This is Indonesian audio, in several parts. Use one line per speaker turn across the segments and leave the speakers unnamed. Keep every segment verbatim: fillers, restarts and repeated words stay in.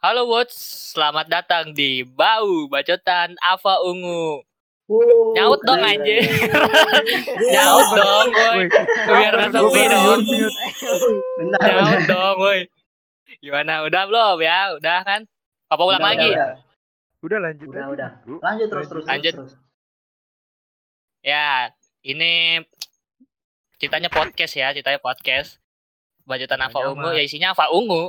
Halo Wots, selamat datang di Bau Bacotan Ava Ungu.
Wow,
Nyaut dong
keren.
anjir. Nyaut dong, woi. Biar gak sepi dong.
Benar,
Nyaut
benar.
dong, woi. Gimana? Udah belum ya? Udah kan? Apa ulang
Udah,
lagi?
Udah,
Udah lanjut
udah.
aja.
udah.
Bro.
Lanjut terus, terus,
Lanjut.
terus, terus.
Ya, ini ceritanya podcast ya, ceritanya podcast. Bacotan Ava
Namanya
Ungu,
mah.
ya isinya Ava Ungu.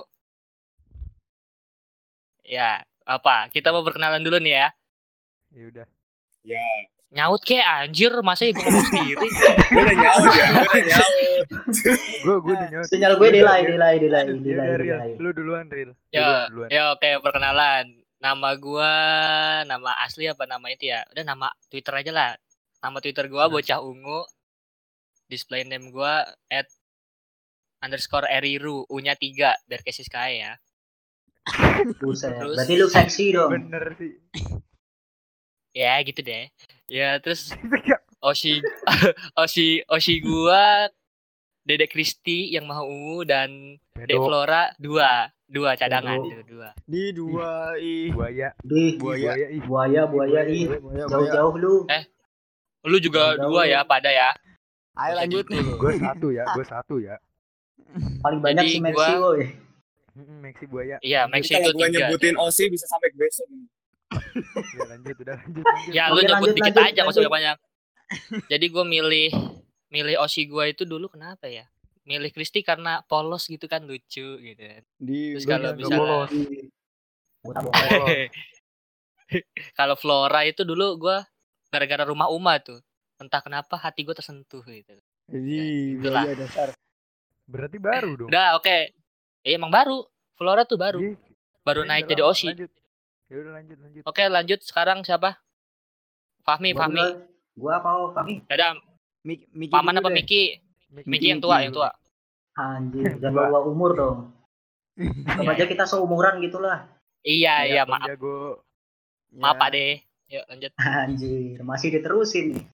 Ya, apa? Kita mau berkenalan dulu nih ya.
Ya udah.
Ya,
Nyaut kek anjir, masa ibu ngomong sendiri.
gue udah nyaut ya, gue udah nyaut.
Gue gue udah nyaut.
Sinyal gue
Ya
delay,
udah,
delay, delay,
Ya
delay,
udah, Ril.
delay.
Lu duluan, Ril.
Ya,
Duluan, duluan.
ya oke perkenalan. Nama gua, nama asli apa nama itu ya? Udah nama Twitter aja lah. Nama Twitter gua Bocah Ungu. Display name gua at underscore eriru, U-nya tiga biar kayak Siskae ya.
Buset.
Terus-
Berarti lu seksi dong.
Bener sih.
Ya gitu deh. Ya terus Oshi Oshi Oshi gua Dedek Kristi yang maha ungu dan Dek
Bedo.
Flora dua dua cadangan
Bedo.
tuh dua.
Di dua i
Buaya.
Di
buaya.
Buaya ih.
buaya, buaya, ih.
Buaya, buaya.
Jauh-jauh lu.
Eh, Lu juga
Jauh.
dua ya pada ya.
Ayo lanjut nih.
Gue satu ya, gue satu ya.
Paling banyak
Jadi
si Maxi,
gua-
woi.
Hmm, Maxi buaya.
Iya,
Nanti
Maxi
kalau
itu
gue
tiga.
nyebutin O S I bisa sampai ke besok.
Ya lanjut, udah lanjut. lanjut.
Ya lu
Oke,
nyebut
lanjut,
dikit
lanjut,
aja, nggak usah
lanjut.
banyak. Jadi gue milih milih Oshi gue itu dulu kenapa ya? Milih Kristi karena polos gitu kan, lucu gitu.
Di
Terus
Lu
kalau
jangan
misalnya
bolos.
Buat apa?
kalau Flora itu dulu gue gara-gara rumah Uma tuh. Entah kenapa hati gue tersentuh gitu.
Jadi
Itulah.
buaya dasar.
Berarti baru dong.
Udah oke. Eh, emang baru. Flora tuh baru.
Iya.
Baru
Iya,
naik
udah
jadi
lama.
Oshi.
Lanjut. Ya udah lanjut, lanjut.
Oke, lanjut sekarang siapa? Fahmi,
Gua
Fahmi.
duluan. Gua apa, Fahmi?
Ada
Mik Miki
Paman
dulu
apa
deh.
Miki?
Miki,
Miki yang tua, yang tua.
Anjir, jangan
Dua.
bawa umur dong. Sama aja kita seumuran gitulah.
Iya, iya,
Bang
maaf.
Jago.
Maaf
Ya.
Pak deh. Yuk lanjut.
Anjir, masih diterusin nih.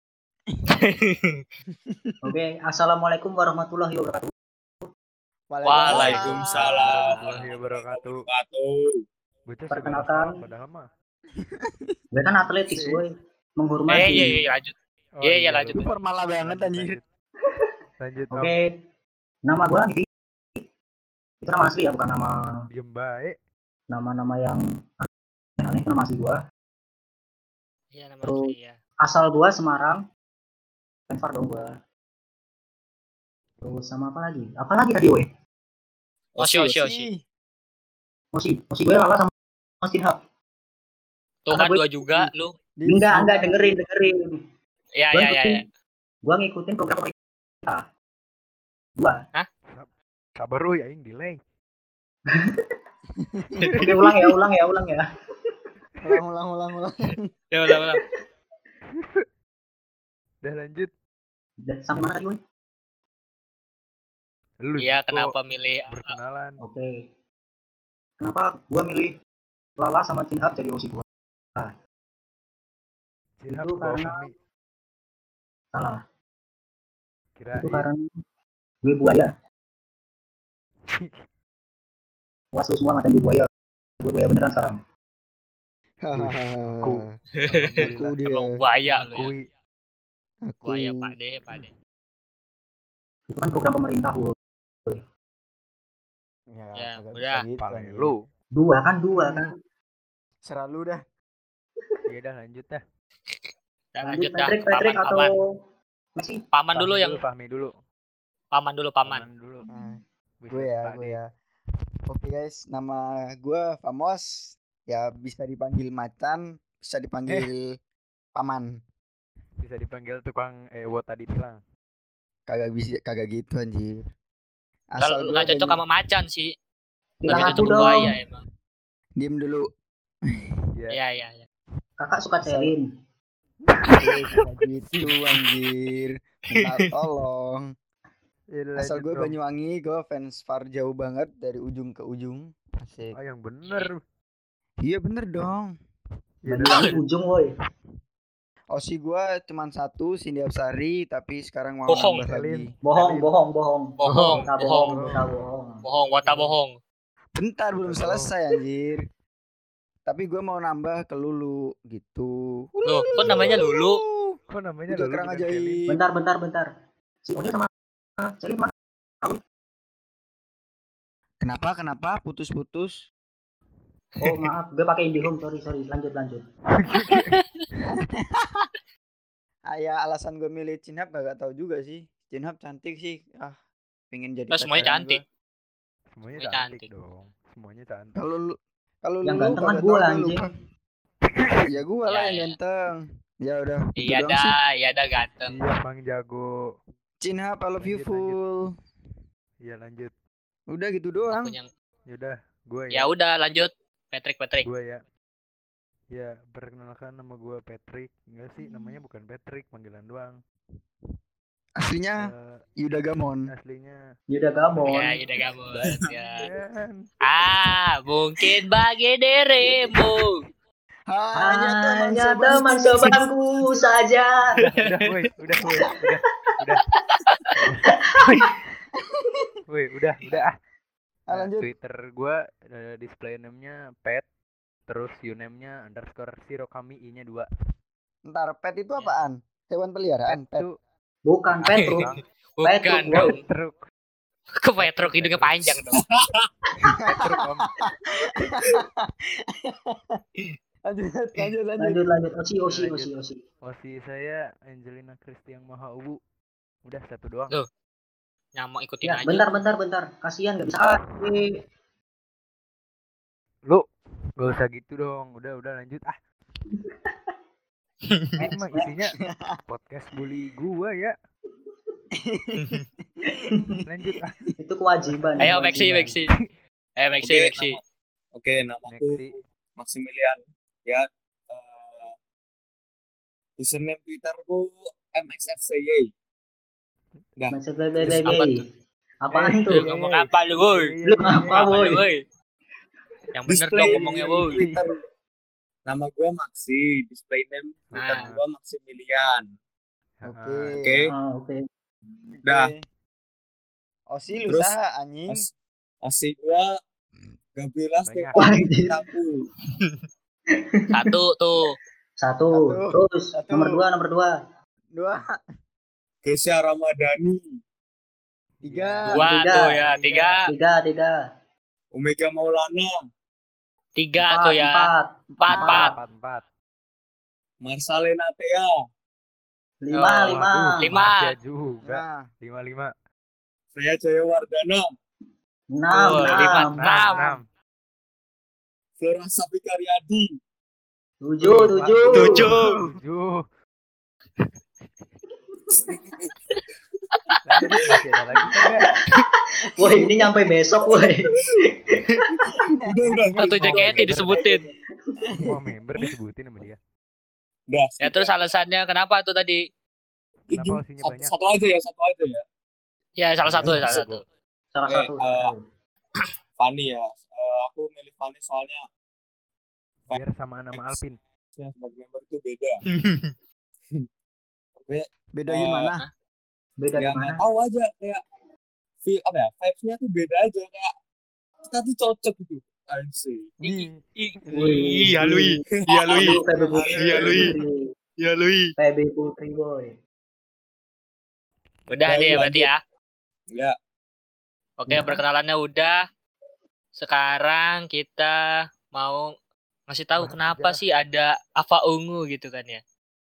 Oke, assalamualaikum warahmatullahi wabarakatuh.
Waalaikumsalam.
Warahmatullahi wabarakatuh.
Wabarakatuh.
Bocah
Perkenalkan.
segala salah padahal mah.
Gue kan atletis,
Si.
woi.
Eh,
Menghormati.
iya, iya, lanjut.
Oh,
Iya, iya, lanjut.
Lu formal banget anjir.
Lanjut, Om.
Oke. Nama gua Didi. Itu nama asli ya, bukan nama
Diem baik.
nama-nama yang aneh, nama asli gua.
Iya, nama
Terus.
asli ya.
Asal gua Semarang. Penfar dong gua. Terus sama apa lagi? Apa lagi tadi, woi?
Oshi, Oshi, Oshi.
Ih,
Mosi, Mosi gue lala sama Mas Tinhak.
Tuh
Karena
kan
gue-
dua juga lu.
di-
Enggak, enggak dengerin, dengerin.
Iya,
Gua
iya, iya.
ngikutin,
iya.
gua ngikutin program pemerintah. Gua.
Sabar lu ya, yang delay.
Oke, ulang ya, ulang ya, ulang ya.
ulang ulang ulang ulang.
Ya udah, udah.
Udah lanjut.
Dan sampai mana tadi, woi?
Lu
Iya,
kok
kenapa milih
berkenalan?
Oke. Kenapa gua milih Lala sama Tinhak jadi osi gua?
Silahkan
Itu
bawa
karena-
kami.
Salah.
Kirain.
Itu karena gue buaya. Wah, lu semua macam gue buaya. Gue buaya beneran sekarang.
Aku.
Aku dia.
emang buaya lu ya.
Kui.
Aku.
Buaya Pak De, Pak De.
Itu kan program pemerintah, gua.
Ya,
Ya,
kagak
udah.
bisa gitu,
Pale
anjir.
lu.
Dua kan, dua kan.
Serah lu dah.
Ya udah lanjut dah.
Dan
Lanjut,
lanjut dah
Patrick,
ke paman,
Patrick atau
paman.
Messi?
Paman dulu
Fahmi
yang
Fahmi dulu.
paman dulu, paman.
dulu.
Nah,
Bisa
gue ya,
Pak
gue
De.
ya. Oke guys, nama gue Famos. Ya bisa dipanggil Macan, bisa dipanggil Paman.
Bisa dipanggil tukang ewot tadi tilang.
Kagak bisa, kagak gitu anjir.
Kalau
gua
nggak cocok
Banyu-
sama macan sih.
Bilang
Lebih
aku
cocok ke
dong.
buaya emang.
Diem dulu.
Iya.
Iya, iya, iya.
Kakak suka Celine.
Eh, kagak gitu anjir. Minta tolong.
Ya udah
Asal
lanjut,
gue
Om.
Banyuwangi, gue fans Far jauh banget dari ujung ke ujung. Asik.
Ah, yang bener.
Iya bener dong.
Ya
Bagi
udah.
lagi ujung, woi.
Osi gue cuman satu, Cindy Absari, tapi sekarang mau
Bohong.
nambah lagi.
Bohong, bohong, bohong.
Bohong,
Kita
bohong.
bohong, kita bohong.
Bohong, wata bohong.
Bentar belum
Halo.
selesai anjir. Tapi gue mau nambah ke Lulu gitu.
Loh, kok namanya Lulu?
Kok namanya
Udah
Lulu
kerang
bukan
ajaib.
Kelly?
Bentar, bentar, bentar. Si Oni sama Celit mana?
Kenapa? Kenapa? Putus-putus.
Oh maaf, gue pakai IndiHome. Sorry, sorry. Lanjut, lanjut.
Ah, ya alasan gue milih Cinhap gak tahu juga sih. Cinhap cantik sih. Ah, pengen jadi
Lah, semuanya
pacarnya
cantik.
gua.
Semuanya
Semuanya
cantik
cantik.
dong. Semuanya cantik.
Kalau lu kalau
Yang
lu
ganteng kan
kagak
gua,
tahu gue
anjing.
lupa. Ya gue lah
Ya,
yang
ya.
ganteng. Ya udah, gitu
Iya
doang sih.
dah, iya dah ganteng.
Iya, Bang Jago.
Cinhap, I love you
Lanjut,
full.
Iya, lanjut.
Udah gitu doang.
Aku yang
Yaudah, gue
ya
ya.
udah lanjut. Patrick, Patrick.
Gue ya. Ya, perkenalkan nama gue Patrick. Enggak sih, namanya bukan Patrick, panggilan doang.
Aslinya
Eh,
Yuda Gamon.
aslinya
Yuda Gamon.
Ya, udah kamu. Ya.
kan.
Ah, mungkin bagi dirimu.
Hanya teman sebangku saja.
Udah, woi, udah, woi, udah, udah. Woi, udah, udah ah.
Ah,
Nah,
lanjut.
Twitter gue uh, display name-nya pet, terus uname-nya underscore sirokami i-nya dua.
Ntar pet itu
Ya.
apaan? Hewan peliharaan, pet.
tuh
Bukan Petruk.
Bang.
Bukan
Petruk,
dong.
boy.
Truk,
Ke Petruk hidungnya panjang dong.
Petruk om.
Lanjut, lanjut, lanjut.
Lanjut, lanjut. Osi, osi,
Lanjut.
osi, osi.
Osi saya Angelina Christian Maha Ubu. Udah satu doang.
Loh. Nyama ikutin
Ya,
aja.
bentar, bentar, bentar. Kasihan gak bisa. Ah, eh.
Lu gak usah gitu dong. Udah, udah lanjut ah. Ini mah isinya podcast bully gua ya. Lanjut ah.
Itu kewajiban.
Ayo
kewajiban.
Maxi, Maxi. Ayo Maxi,
Oke,
Maxi.
nama- Oke, namaku
Maxi.
Maximilian. Ya. Uh, username Twitterku M X F C Y. Dah.
Masuk
Apa
bebe.
tuh?
Apaan
Eh,
tuh?
Lu ngomong apa lu, woi?
Lu apa,
Apa
boy?
lu, woi? Yang bener
Display
dong ngomongnya, woi.
Twitter. Nama gua Maxi, display name Twitter
Nah.
gua Maximilian.
Oke.
Oke.
Ah, oke.
Dah.
Osi lu
Terus,
saha anjing.
As asik gua Gabriela
Banyak.
Stefani Cintaku.
Satu tuh.
Satu.
Satu.
Terus
Satu.
nomor dua, nomor dua.
Dua,
Kesha Ramadhani.
tiga,
Dua
tiga.
tuh ya, tiga.
Tiga, tiga.
Omega Maulana.
Tiga
Empat,
tuh ya.
empat.
Empat, empat.
Empat, empat.
Marsalena Thea.
Lima,
Oh,
lima.
Waduh,
Lima.
masih juga.
Nah,
Lima, lima.
Freya Jayawardana.
Enam,
Oh, lima.
enam.
Enam.
Enam.
Flora Sapikaryadi.
Tujuh, tujuh.
Tujuh.
Tujuh. Lanjut, masih ada lagi kagak?
Woi, ini nyampe besok, woi.
Udah, udah.
Satu jaketnya disebutin.
Semua member disebutin sama dia.
Udah.
Ya terus alasannya kenapa tuh tadi?
Kenapa osinya
satu,
banyak?
satu aja ya, satu aja ya.
Ya salah satu, salah satu.
Salah
Oke,
satu.
eh, Fanny ya. Eh, aku milih Fanny soalnya
Biar samaan nama Alvin.
ya, sebagai member itu beda. Oke,
beda
Eh,
gimana?
Beda
ya
gimana?
nggak tahu aja kayak feel apa ya, vibes-nya tuh beda aja kayak kita tuh cocok gitu. Anjir.
Ih,
Iya Lui. Iya Lui.
Aduh, P B Putri.
Iya, Lui. Iya Lui.
P B Putri, boy.
Udah
Baru
nih ya
lanjut.
berarti ya.
Ya,
Oke, perkenalannya udah. Sekarang kita mau ngasih tahu
Bahas
kenapa
sejarah.
sih ada Ava Ungu gitu kan ya.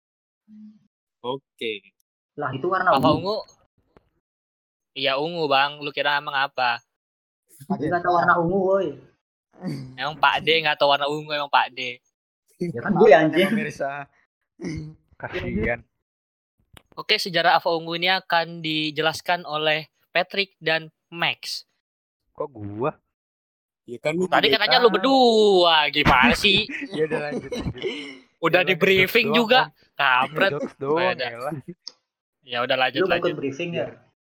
oke.
Lah, itu warna
Ava
ungu.
Ungu. Iya ungu bang, lu kira emang apa?
Tapi nggak tahu warna ungu, boy.
Emang Pak D nggak tahu warna ungu emang Pak D.
Ya kan gue anjing.
Pemirsa.
kasihan.
Oke, sejarah Ava Ungu ini akan dijelaskan oleh Patrick dan Max.
Kok gua?
Ya kan lu
Tadi
juga
katanya lu berdua, gimana sih?
Ya udah lanjut, lanjut.
Udah
Udah,
di briefing
ngejokes
juga,
doang,
kampret.
Jokes doang,
Beda.
elah.
Ya udah lanjut
Lu mau ikut
lanjut.
briefing ya?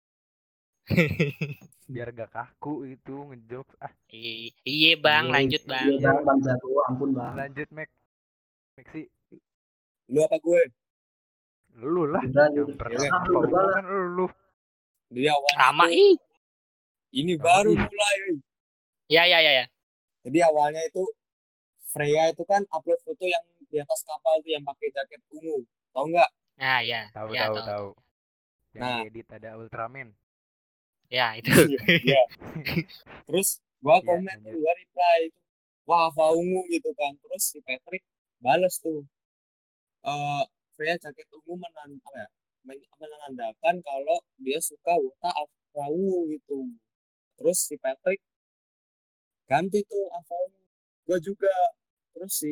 Biar gak kaku itu ngejokes. Ah,
I- Iya bang, lanjut bang.
Iya, bang, bang jago. Ampun, bang.
lanjut Mac. Maxi,
lu apa gue?
lu lah.
Udah,
Yang
udah.
pertama
Ah, lu
Pak
berdua
Ungu
lah.
kan lu.
Dia awal.
Sama ih.
Ini
Sama
baru
ih.
mulai. weh.
Ya ya ya ya.
Jadi awalnya itu Freya itu kan upload foto yang di atas kapal tuh yang pakai jaket ungu. Tahu nggak?
Nah ya.
Tahu
Ya
tahu
tahu.
tahu. Yang
Nah.
diedit ada Ultraman.
Ya itu.
Iya. Terus gua
Iya,
komen
lanjut.
tuh, gua reply, wah Ava ungu gitu kan. Terus si Patrick balas tuh, eh Freya jaket ungu menan apa ya? men- menandakan kalau dia suka Wota Ava ungu gitu. Terus si Patrick ganti tuh Ava ungu. Gua juga. Terus si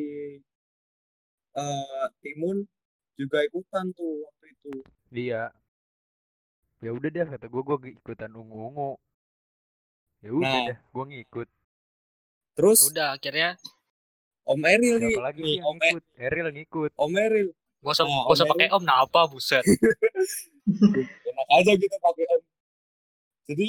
eh Timun juga ikutan tuh waktu itu.
Iya. Ya udah deh kata gue gue ikutan ungu-ungu. Ya udah
Nah,
dah, gue ngikut.
terus
Udah akhirnya
Om Eril nih,
Siapa lagi
nih
sih yang
Om, E-
ngikut? Eril ngikut.
Om Eril.
gua usah
Nah,
gua
Om
usah pakai
Eril
om nah apa buset.
enak aja gitu pakai Om. Jadi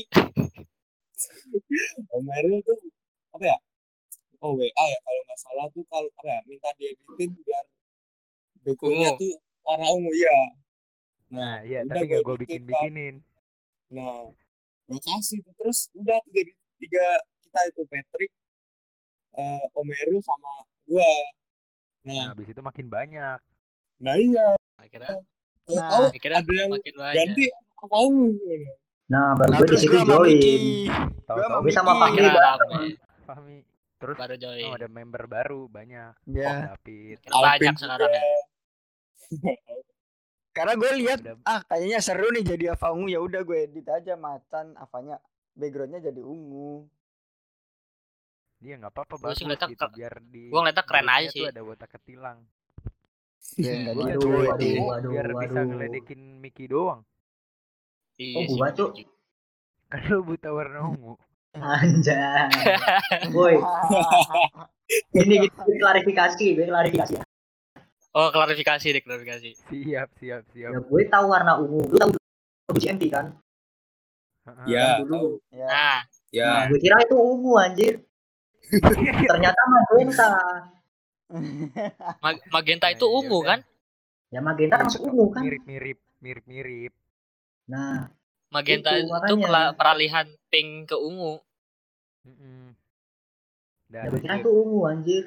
Om Eril tuh apa ya? Oh W A ya kalau nggak salah tuh kalau apa ya minta dieditin biar backgroundnya
Ungu.
tuh warna ungu ya. Nah,
Nah iya,
udah
tapi
gue
gak gue
editin kan.
bikin-bikinin.
Nah, gue kasih tuh terus udah tuh jadi tiga kita itu Patrick, eh, Om Eril sama gua.
Nah
Nah,
habis itu makin banyak.
nah iya.
Akhirnya
Tahu-tahu
Nah,
akhirnya
ada yang
makin banyak.
ganti apa ungu.
Nah, baru
nah
gue di
terus
situ
gue sama
join.
Miki. Gue
Tahu-tahu
sama
Gue sama
Miki.
Fahmi
Akhirnya
bareng.
rame.
Fahmi. Terus
Baru join.
oh, ada member baru banyak.
Ya.
Oh, David.
Makin banyak
Alvin
sekarang
juga.
ya.
Karena gue lihat
Udah
ah kayaknya seru nih jadi Ava ungu, ya udah gue edit aja macan Avanya backgroundnya jadi ungu.
dia nggak apa-apa
Gua sih
bagus
ngeliatnya
gitu
ke-
biar di
gua ngeliatnya keren
grupnya
aja
tuh
sih.
ada Wota ketilang.
Ya enggak
Gua
gitu,
Waduh,
biar
waduh,
Edi.
waduh,
biar bisa
waduh.
ngeledekin Mickey doang.
Iya
Oh,
sih
gua
bener
cuk.
juga.
Kan lu buta warna ungu.
Anjay. Woi, ini gitu gue klarifikasi, gue klarifikasi.
Oh klarifikasi deh klarifikasi.
Siap, siap, siap.
Ya gue tahu warna ungu, gue tahu B C M P kan.
Heeh.
Ya,
Yang dulu.
tahu.
Ya.
Nah
Ya.
Nah, gue kira itu ungu anjir. Ternyata magenta.
Mag- magenta
Nah,
itu
ya
ungu
udah.
kan?
Ya magenta kan
Iya,
ungu kan.
mirip-mirip, mirip-mirip.
Nah,
Magenta
itu
itu
makanya.
pela- peralihan pink ke ungu.
Mm-mm.
Ya
Dah
gue kira
lanjut.
itu ungu anjir.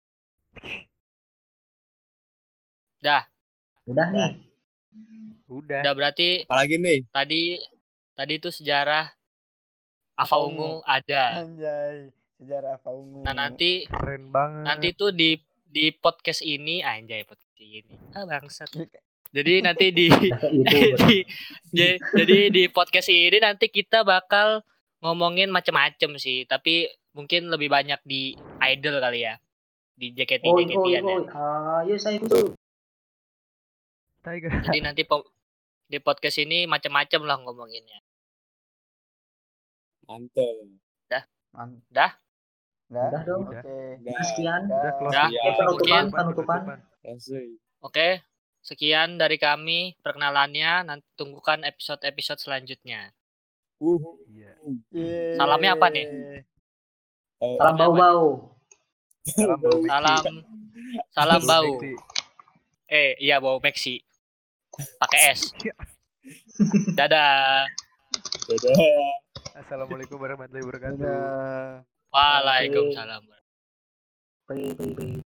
Dah,
Udah nih.
Udah.
udah berarti
Apalagi nih?
tadi tadi itu sejarah Ava
Ava
ungu
ungu.
ada.
Anjay, sejarah Ava ungu.
Nah nanti
Keren banget.
nanti tuh di di podcast ini anjay podcast ini. Ah bangsat. Jadi nanti di, di j- jadi di podcast ini nanti kita bakal ngomongin macem-macem sih, tapi mungkin lebih banyak di idol kali ya, di J K T
Oi,
J K
oi,
T-an ya.
oi. Ayo saya ikut.
Tiger.
Jadi nanti po- di podcast ini macem-macem lah ngomonginnya.
Mantap.
Man-
Dah,
Dah.
Udah dong.
Udah.
Oke.
Udah.
Sekian.
Udah close.
Dah.
Ya,
Penutupan,
mungkin-
penutupan.
Asik.
oke. Sekian dari kami perkenalannya. Nanti tunggukan episode-episode selanjutnya.
Uhuh.
Iya.
Yeay.
Salamnya apa nih?
Eh,
Salam bau-bau.
Salam bau Mexi.
Salam, salam bau.
Mexi.
Eh, iya bau Maxi. Pakai S. Dadah.
dadah.
Assalamualaikum warahmatullahi wabarakatuh.
Dadah.
Waalaikumsalam.
Pe, pe, pe.